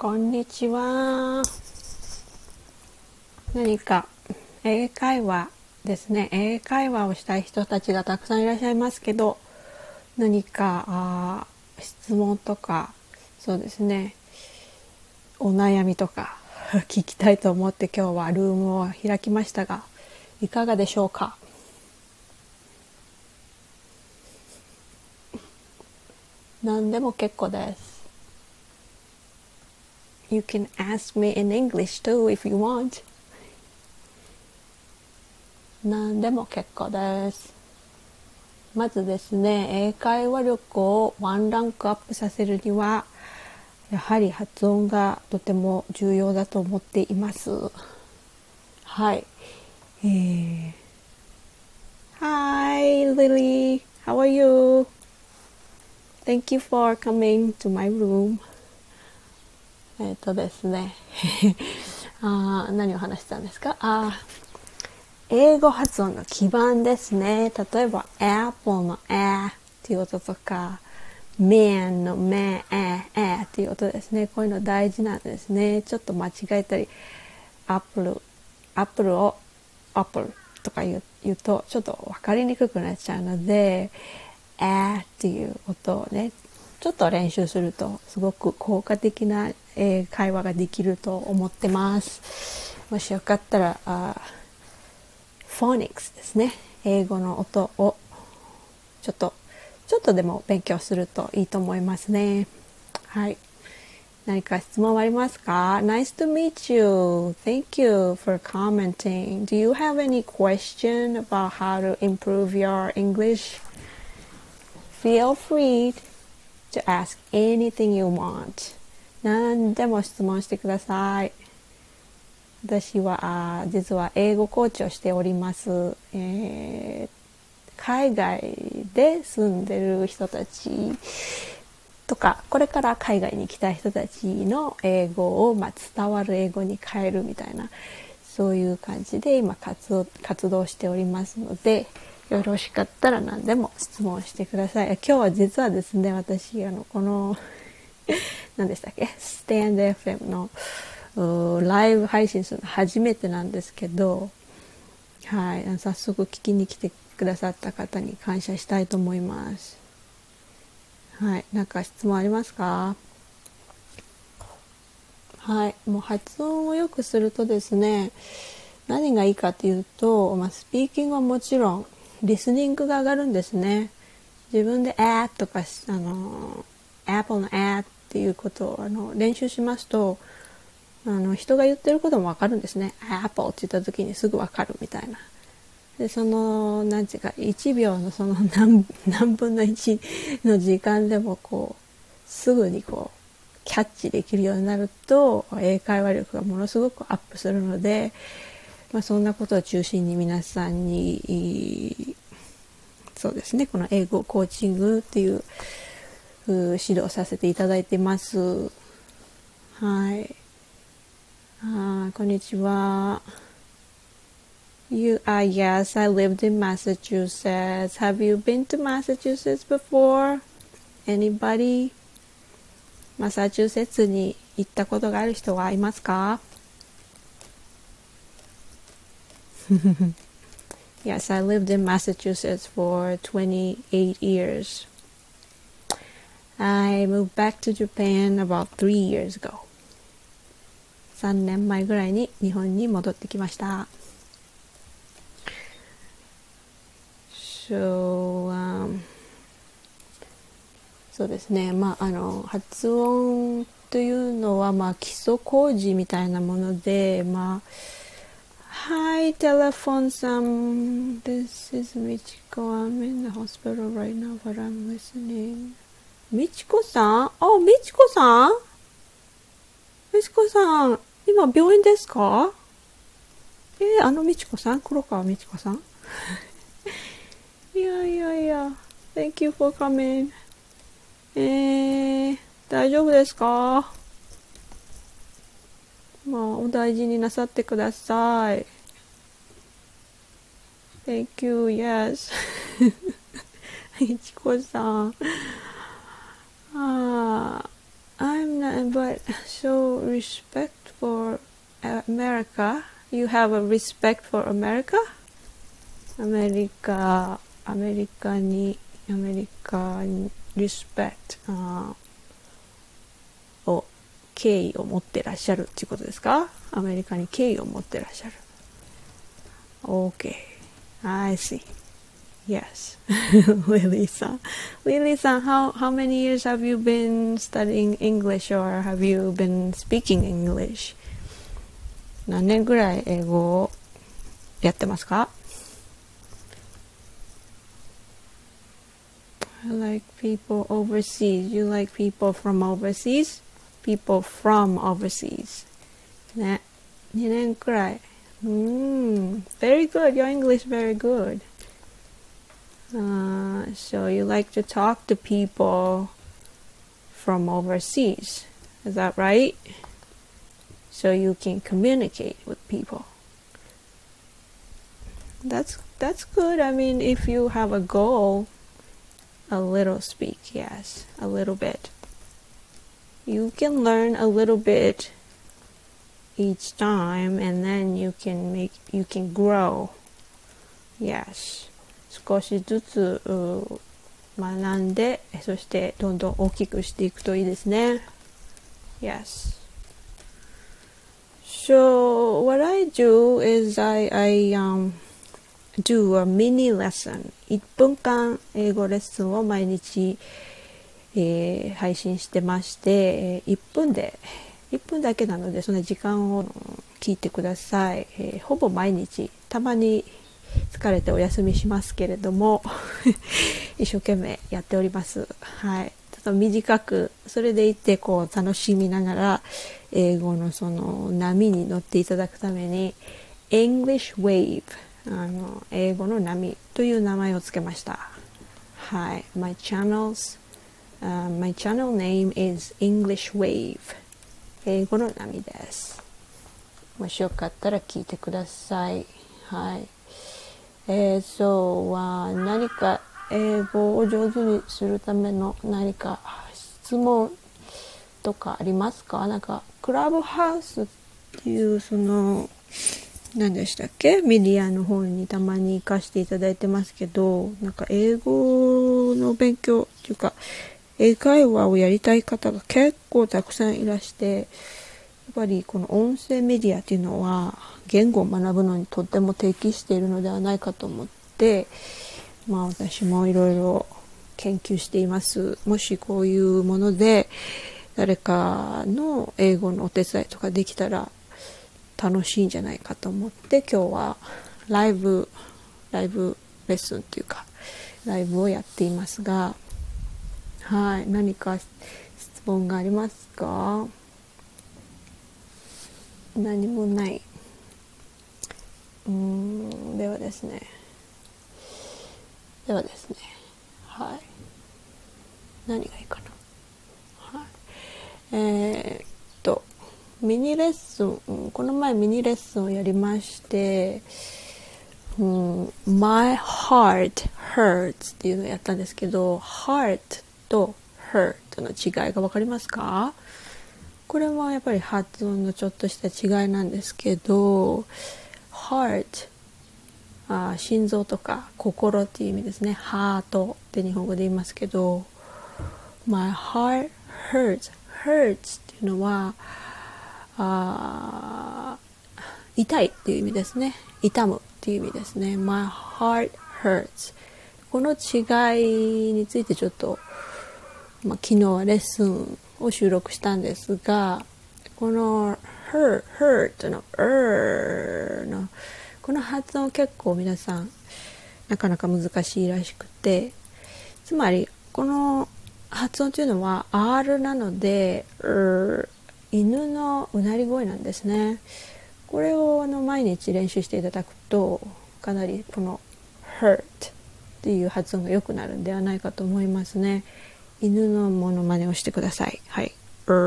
こんにちは。何か英会話ですね。英会話をしたい人たちがたくさんいらっしゃいますけど、何か質問とか、そうですね、お悩みとか聞きたいと思って今日はルームを開きましたが、いかがでしょうか。何でも結構です。You can ask me in English too if you want. 何でも結構です。まずですね、英会話力をワンランクアップさせるには、やはり発音がとても重要だと思っています。はい。Hi Lily, how are you? Thank you for coming to my room. ですね何を話してたんですか。英語発音の基盤ですね。例えば Apple の A っていう音とか Man の Man っていう音ですね。こういうの大事なんですね。ちょっと間違えたり Apple を Apple とか言うとちょっと分かりにくくなっちゃうので A っていう音をねちょっと練習するとすごく効果的な会話ができると思ってます。もしよかったらフォニックスですね。英語の音をちょっとでも勉強するといいと思いますね。はい。何か質問はありますか？ Nice to meet you. Thank you for commenting. Do you have any question about how to improve your English? Feel free to ask anything you want. 何でも質問してください。私は実は英語コーチをしております。海外で住んでる人たちとか、これから海外に行きたい人たちの英語を、伝わる英語に変えるみたいな、そういう感じで今活動しておりますので、よろしかったら何でも質問してください。今日は実はですね、私この何でしたっけ、スタンド FM のライブ配信するの初めてなんですけど、はい、早速聞きに来てくださった方に感謝したいと思います。はい、なんか質問ありますか？はい、もう発音を良くするとですね、何がいいかというと、スピーキングはもちろんリスニングが上がるんですね。自分でとかApple のっていうことを練習しますと、人が言ってることもわかるんですね。Apple って言った時にすぐわかるみたいな。でなんていうか1秒のその何分の1の時間でもすぐにキャッチできるようになると英会話力がものすごくアップするので、そんなことを中心に皆さんにそうですね、この英語コーチングっていう指導させていただいてます。はい。こんにちは。Yes, I lived in Massachusetts. Have you been to Massachusetts before? Anybody? マサチューセッツに行ったことがある人はいますか？ Yes, I lived in Massachusetts for 28 years. I moved back to Japan about 3 years ago. 3年前ぐらいに日本に戻ってきました。そうですね、発音というのは、基礎工事みたいなもので、Hi, telephone Sam. This is Michiko. I'm in the hospital right now, but I'm listening. みちこさん？みちこさん？みちこさん、今病院ですか？みちこさん？黒川みちこさん？いや。Thank you for coming. 大丈夫ですか？お大事になさってください。Thank you, yes. いちこさん。I'm but so respect for America. You have a respect for America? アメリカにrespect を敬意を持ってらっしゃるっていうことですか？アメリカに敬意を持ってらっしゃる。Okay, I see. Yes. Lily-san, how many years have you been studying English or have you been speaking English? 何年ぐらい英語をやってますか？ I like people overseas. You like people from overseas? People from overseas. ね。2年くらい。Very good. Your English very good. So you like to talk to people from overseas. Is that right? So you can communicate with people. That's good. I mean, if you have a goal, a little speak, yes, a little bit. You can learn a little bit each time, and then you can grow. Yes. 少しずつ学んで、そしてどんどん大きくしていくといいですね。Yes. So what I do is I do a mini lesson. 1分間英語レッスンを毎日、配信してまして、1分だけなのでその時間を聞いてください。ほぼ毎日、たまに疲れてお休みしますけれども一生懸命やっております。はい。ちょっと短く、それでいてこう楽しみながら英語のその波に乗っていただくために English Wave 英語の波という名前をつけました。はい。My channel name is English Wave 英語の波です。もしよかったら聞いてください。はい。何か英語を上手にするための何か質問とかありますか？なんかクラブハウスっていうその何でしたっけ？メディアの方にたまに行かせていただいてますけど、なんか英語の勉強っていうか英会話をやりたい方が結構たくさんいらして、やっぱりこの音声メディアっていうのは言語を学ぶのにとっても適しているのではないかと思って、私もいろいろ研究しています。もしこういうもので誰かの英語のお手伝いとかできたら楽しいんじゃないかと思って、今日はライブレッスンっていうかライブをやっていますが、はい、何か質問がありますか？何もない。ではですね。はい。何がいいかな。はい。ミニレッスン、この前ミニレッスンをやりまして、My heart hurts っていうのをやったんですけど、heart と hurt の違いが分かりますか？これもやっぱり発音のちょっとした違いなんですけど、heart、心臓とか心っていう意味ですね。ハートって日本語で言いますけど、My heart hurts っていうのは痛いっていう意味ですね。痛むっていう意味ですね。My heart hurts。この違いについてちょっと、昨日はレッスンを収録したんですが、この hurt のこの発音結構皆さんなかなか難しいらしくて、つまりこの発音というのは R なので、犬のうなり声なんですね。これを毎日練習していただくとかなりこの hurt っていう発音が良くなるんではないかと思いますね。犬のモノマネをしてください。はい。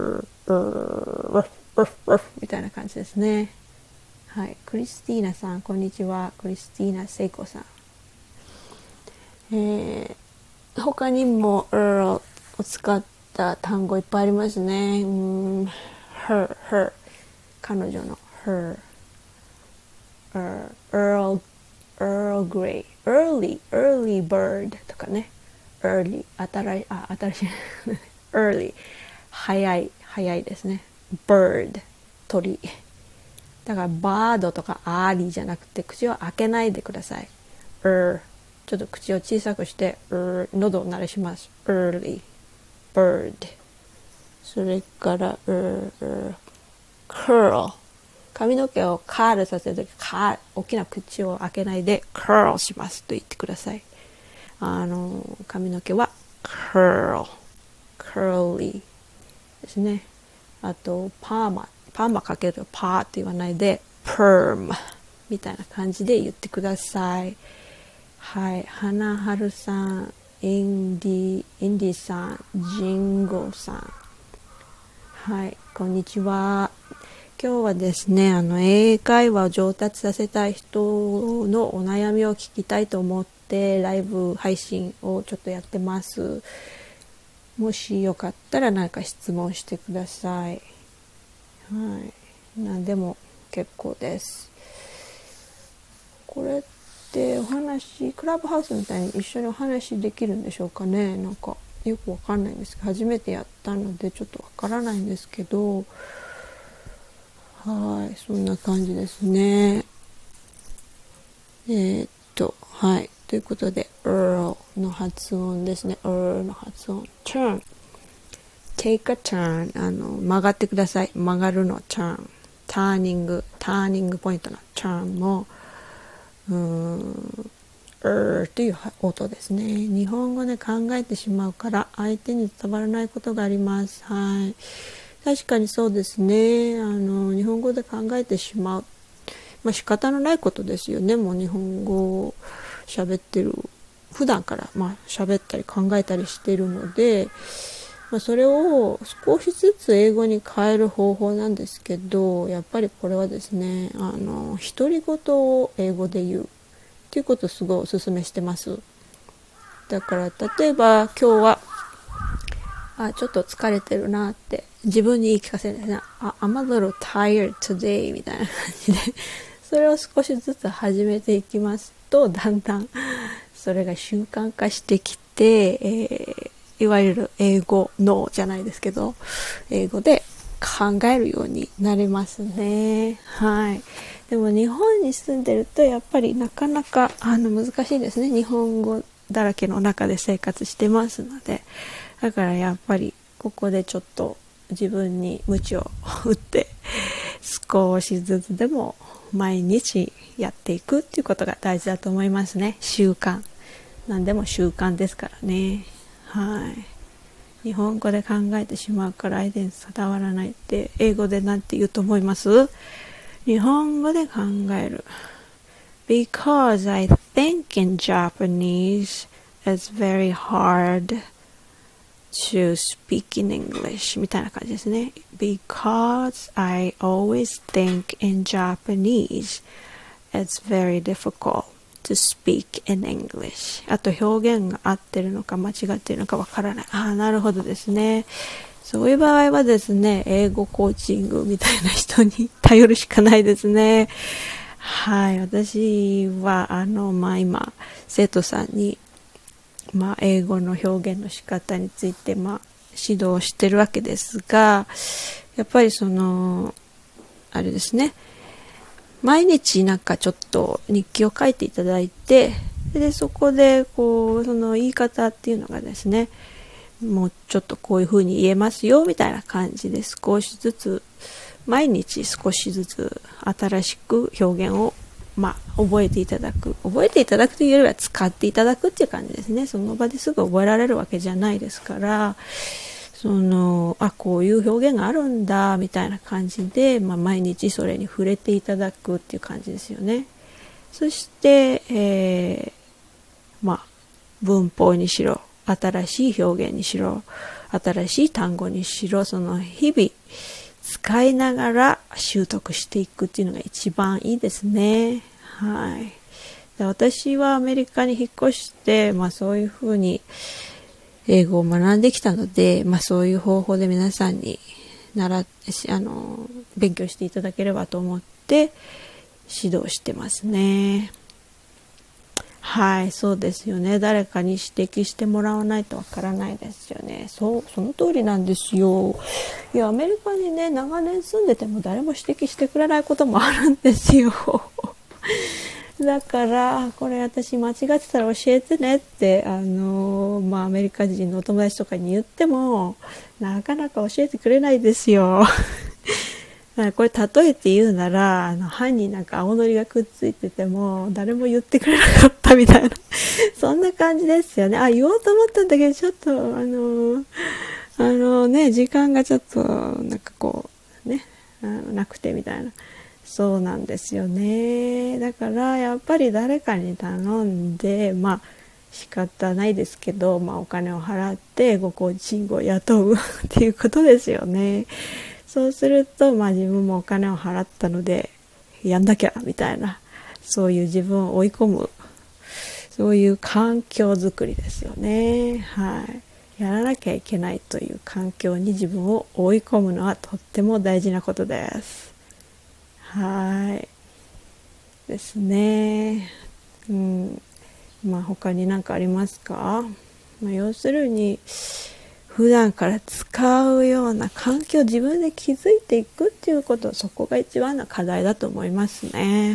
みたいな感じですね。はい。クリスティーナさん、こんにちは。クリスティーナ聖子さん。他にもを使った単語いっぱいありますね。her 彼女の Earl Grey early bird とかね。early 新しいearly 早いですね。bird 鳥だからバードとかアーリーじゃなくて口を開けないでください。ちょっと口を小さくして喉を鳴らします。 early bird。 それからcurl 髪の毛をカールさせるとき大きな口を開けないで curl しますと言ってください。髪の毛は curly ですね。あとパーマかけるとパーって言わないで perm みたいな感じで言ってください。はい、花春さん、インディさん、ジンゴさん、はい、こんにちは。今日はですね、英会話を上達させたい人のお悩みを聞きたいと思ってライブ配信をちょっとやってます。もしよかったら何か質問してください。はい、何でも結構です。これってお話クラブハウスみたいに一緒にお話できるんでしょうかね。なんかよくわかんないんですけど、初めてやったのでちょっとわからないんですけど、はい、そんな感じですね。はい、ということで Earl の発音ですね。Earl の発音 Turn Take a turn 曲がってください。曲がるの Turn ターニングポイントの Turn もという音ですね。日本語で考えてしまうから相手に伝わらないことがあります。はい、確かにそうですね。日本語で考えてしまう、仕方のないことですよね。もう日本語を喋ってる普段から喋ったり考えたりしているので、それを少しずつ英語に変える方法なんですけど、やっぱりこれはですね、独り言を英語で言うっていうことをすごいお勧めしてます。だから例えば今日はちょっと疲れてるなって自分に言い聞かせるんですね。I'm a little tired today みたいな感じでそれを少しずつ始めていきますと、だんだんそれが習慣化してきて、いわゆる英語脳じゃないですけど、英語で考えるようになりますね。はい。でも日本に住んでるとやっぱりなかなか難しいですね。日本語だらけの中で生活してますので、だからやっぱりここでちょっと自分に鞭を打って少しずつでも毎日やっていくっていうことが大事だと思いますね。習慣、何でも習慣ですからね。はい。日本語で考えてしまうから相手に伝わらないって英語でなんて言うと思います？日本語で考える。Because I think in Japanese it's very hard to speak in English みたいな感じですね。Because I always think in Japanese it's very difficult to speak in English。 あと表現が合ってるのか間違ってるのかわからない。なるほどですね。そういう場合はですね、英語コーチングみたいな人に頼るしかないですね。はい、私は今生徒さんに英語の表現の仕方について指導してるわけですが、やっぱりあれですね、毎日なんかちょっと日記を書いていただいて、でそこでその言い方っていうのがですね、もうちょっとこういう風に言えますよみたいな感じで少しずつ毎日少しずつ新しく表現を覚えていただくというよりは使っていただくっていう感じですね。その場ですぐ覚えられるわけじゃないですから、こういう表現があるんだみたいな感じで、毎日それに触れていただくっていう感じですよね。そして、文法にしろ、新しい表現にしろ、新しい単語にしろ、日々使いながら習得していくっていうのが一番いいですね。はい。で、私はアメリカに引っ越して、そういうふうに英語を学んできたので、そういう方法で皆さんに勉強していただければと思って指導してますね。はい、そうですよね。誰かに指摘してもらわないとわからないですよね。その通りなんですよ。いや、アメリカにね、長年住んでても誰も指摘してくれないこともあるんですよ。だから、これ私間違ってたら教えてねって、アメリカ人のお友達とかに言っても、なかなか教えてくれないですよ。これ例えて言うなら、歯になんか青のりがくっついてても誰も言ってくれなかったみたいなそんな感じですよね。言おうと思ったんだけど、ちょっと時間がちょっとなんかこうねなくてみたいな、そうなんですよね。だからやっぱり誰かに頼んで、仕方ないですけど、お金を払ってごコーチングを雇うっていうことですよね。そうすると、自分もお金を払ったのでやんなきゃみたいな、そういう自分を追い込む、そういう環境づくりですよね。はい。やらなきゃいけないという環境に自分を追い込むのはとっても大事なことです。はい。ですね。他に何かありますか？要するに普段から使うような環境を自分で築いていくっていうこと、そこが一番の課題だと思いますね。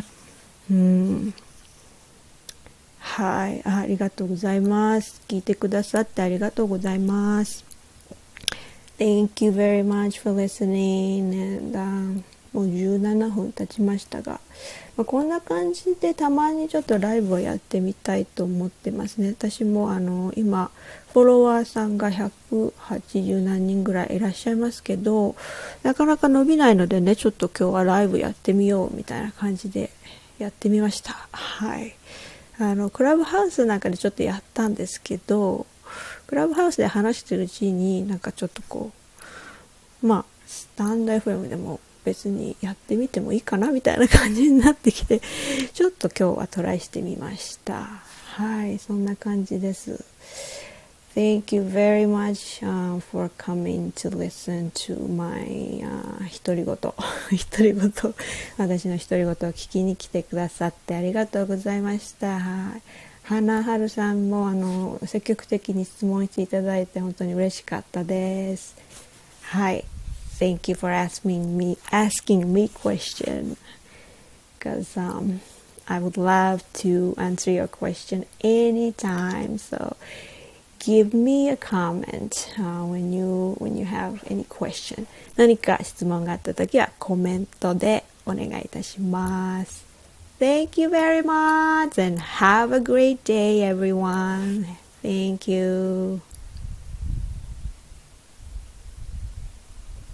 はい、ありがとうございます。聞いてくださってありがとうございます。Thank you very much for listening. And, もう17分経ちましたが、こんな感じでたまにちょっとライブをやってみたいと思ってますね。私も今フォロワーさんが180何人ぐらいいらっしゃいますけど、なかなか伸びないのでね、ちょっと今日はライブやってみようみたいな感じでやってみました。はい。クラブハウスなんかでちょっとやったんですけど、クラブハウスで話してるうちになんかちょっとこうスタンド FM でも別にやってみてもいいかなみたいな感じになってきて、ちょっと今日はトライしてみました。はい、そんな感じです。Thank you very much, for coming to listen to my 独り言私の独り言を聞きに来てくださってありがとうございました。花春さんも積極的に質問していただいて本当に嬉しかったです。はい。Thank you for asking me question, because I would love to answer your question anytime. So give me a comment when you have any question. 何か質問があったときはコメントでお願いいたします。Thank you very much and have a great day, everyone. Thank you.